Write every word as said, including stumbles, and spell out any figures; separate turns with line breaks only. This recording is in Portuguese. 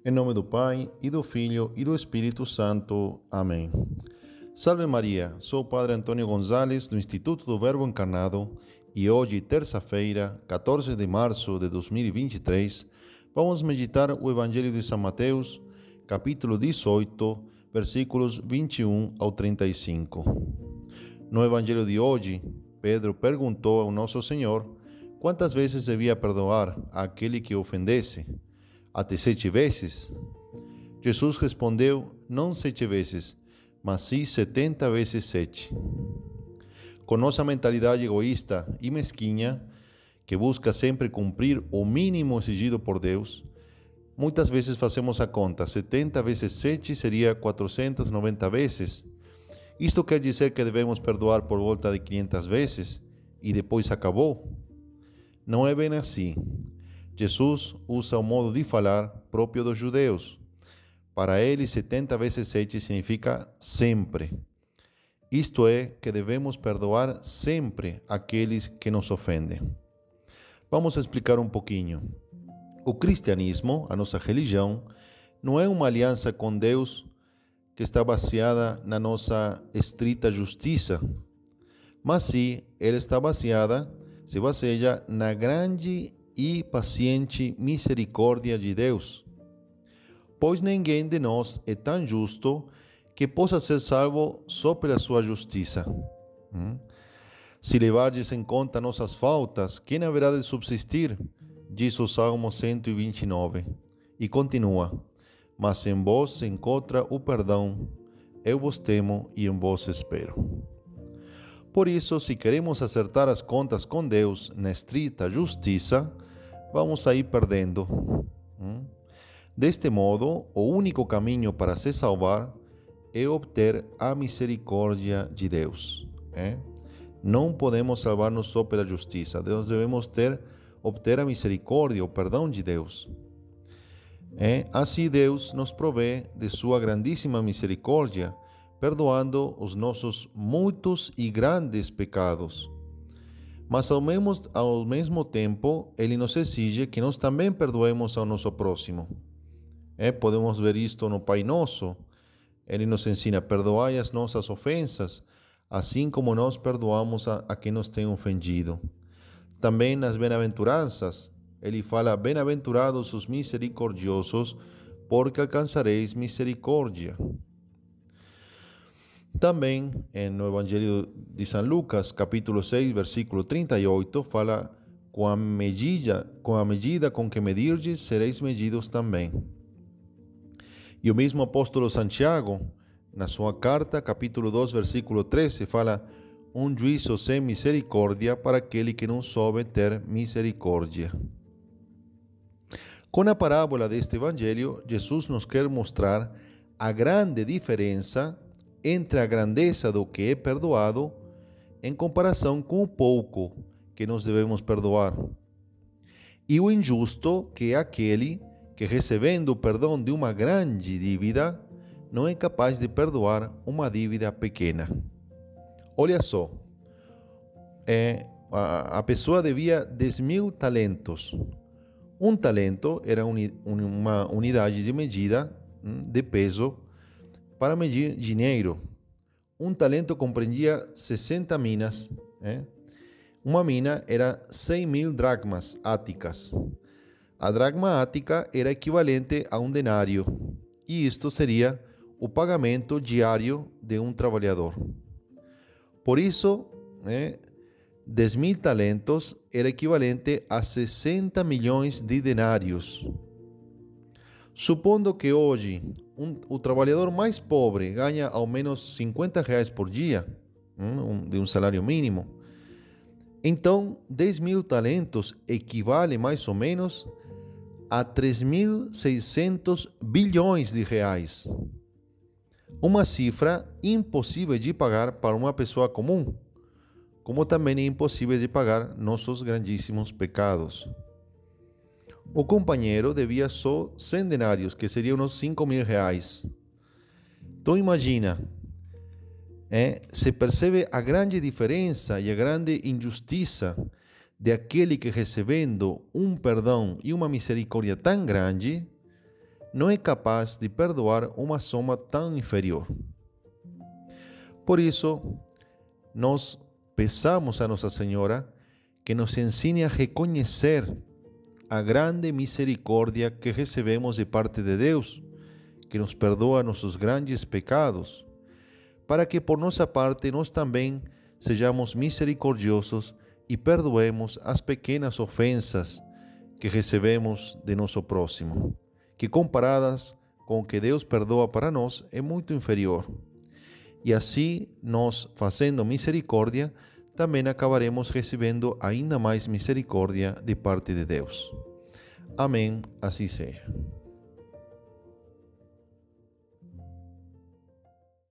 Em nome do Pai, e do Filho, e do Espírito Santo. Amém. Salve Maria, sou o Padre Antônio Gonzalez, do Instituto do Verbo Encarnado, e hoje, terça-feira, quatorze de março de dois mil e vinte e três, vamos meditar o Evangelho de São Mateus, capítulo dezoito, versículos vinte e um ao trinta e cinco. No Evangelho de hoje, Pedro perguntou ao Nosso Senhor quantas vezes devia perdoar àquele que ofendesse. Até sete vezes? Jesus respondeu, não sete vezes, mas sim setenta vezes sete. Com nossa mentalidade egoísta e mesquinha, que busca sempre cumprir o mínimo exigido por Deus, muitas vezes fazemos a conta, setenta vezes sete seria quatrocentas e noventa vezes. Isto quer dizer que devemos perdoar por volta de quinhentas vezes e depois acabou? Não é bem assim. Jesus usa o modo de falar próprio dos judeus. Para ele, setenta vezes sete significa sempre. Isto é, que devemos perdoar sempre aqueles que nos ofendem. Vamos explicar um pouquinho. O cristianismo, a nossa religião, não é uma aliança com Deus que está baseada na nossa estrita justiça, mas sim, ela está baseada, se baseia na grande e paciente misericórdia de Deus. Pois ninguém de nós é tão justo que possa ser salvo só pela sua justiça. Hum? Se levardes em conta nossas faltas, quem haverá de subsistir? Diz o Salmo cento e vinte e nove. E continua, mas em vós se encontra o perdão, eu vos temo e em vós espero. Por isso, se queremos acertar as contas com Deus na estrita justiça, vamos sair perdendo. Deste modo, o único caminho para se salvar é obter a misericórdia de Deus. É? Não podemos salvar-nos só pela justiça. Nós devemos ter, obter a misericórdia, o perdão de Deus. É? Assim Deus nos provê de sua grandíssima misericórdia, perdoando os nossos muitos e grandes pecados. Mas ao mesmo, ao mesmo tempo, Ele nos exige que nós também perdoemos ao nosso próximo. É, podemos ver isto no Pai Nosso. Ele nos ensina, perdoai as nossas ofensas, assim como nós perdoamos a, a quem nos tem ofendido. Também nas bem-aventuranças, Ele fala, bem-aventurados os misericordiosos, porque alcançareis misericórdia. Também no Evangelho de São Lucas, capítulo seis, versículo trinta e oito, fala, com a medida com, a medida com que medirdes, sereis medidos também. E o mesmo apóstolo Santiago, na sua carta, capítulo dois, versículo treze, fala, um juízo sem misericórdia para aquele que não soube ter misericórdia. Com a parábola deste Evangelho, Jesus nos quer mostrar a grande diferença entre a grandeza do que é perdoado em comparação com o pouco que nós devemos perdoar. E o injusto, que é aquele que, recebendo o perdão de uma grande dívida, não é capaz de perdoar uma dívida pequena. Olha só, é, a, a pessoa devia dez mil talentos. Um talento era uni, uma unidade de medida de peso para medir dinheiro. Um talento compreendia sessenta minas. É? Uma mina era cem mil dracmas áticas. A dracma ática era equivalente a um denário. E isto seria o pagamento diário de um trabalhador. Por isso, é, dez mil talentos era equivalente a sessenta milhões de denários. Supondo que hoje um, o trabalhador mais pobre ganha ao menos cinquenta reais por dia, um, de um salário mínimo, então dez mil talentos equivale mais ou menos a três mil e seiscentos bilhões de reais. Uma cifra impossível de pagar para uma pessoa comum, como também é impossível de pagar nossos grandíssimos pecados. O companheiro devia só cem denários, que seriam uns cinco mil reais. Então imagina, é, se percebe a grande diferença e a grande injustiça de aquele que, recebendo um perdão e uma misericórdia tão grande, não é capaz de perdoar uma soma tão inferior. Por isso, nós peçamos a Nossa Senhora que nos ensine a reconhecer a grande misericórdia que recebemos de parte de Deus, que nos perdoa nossos grandes pecados, para que por nossa parte nós também sejamos misericordiosos e perdoemos as pequenas ofensas que recebemos de nosso próximo, que comparadas com o que Deus perdoa para nós é muito inferior. E assim, nós fazendo misericórdia, também acabaremos recebendo ainda mais misericórdia de parte de Deus. Amém, assim seja.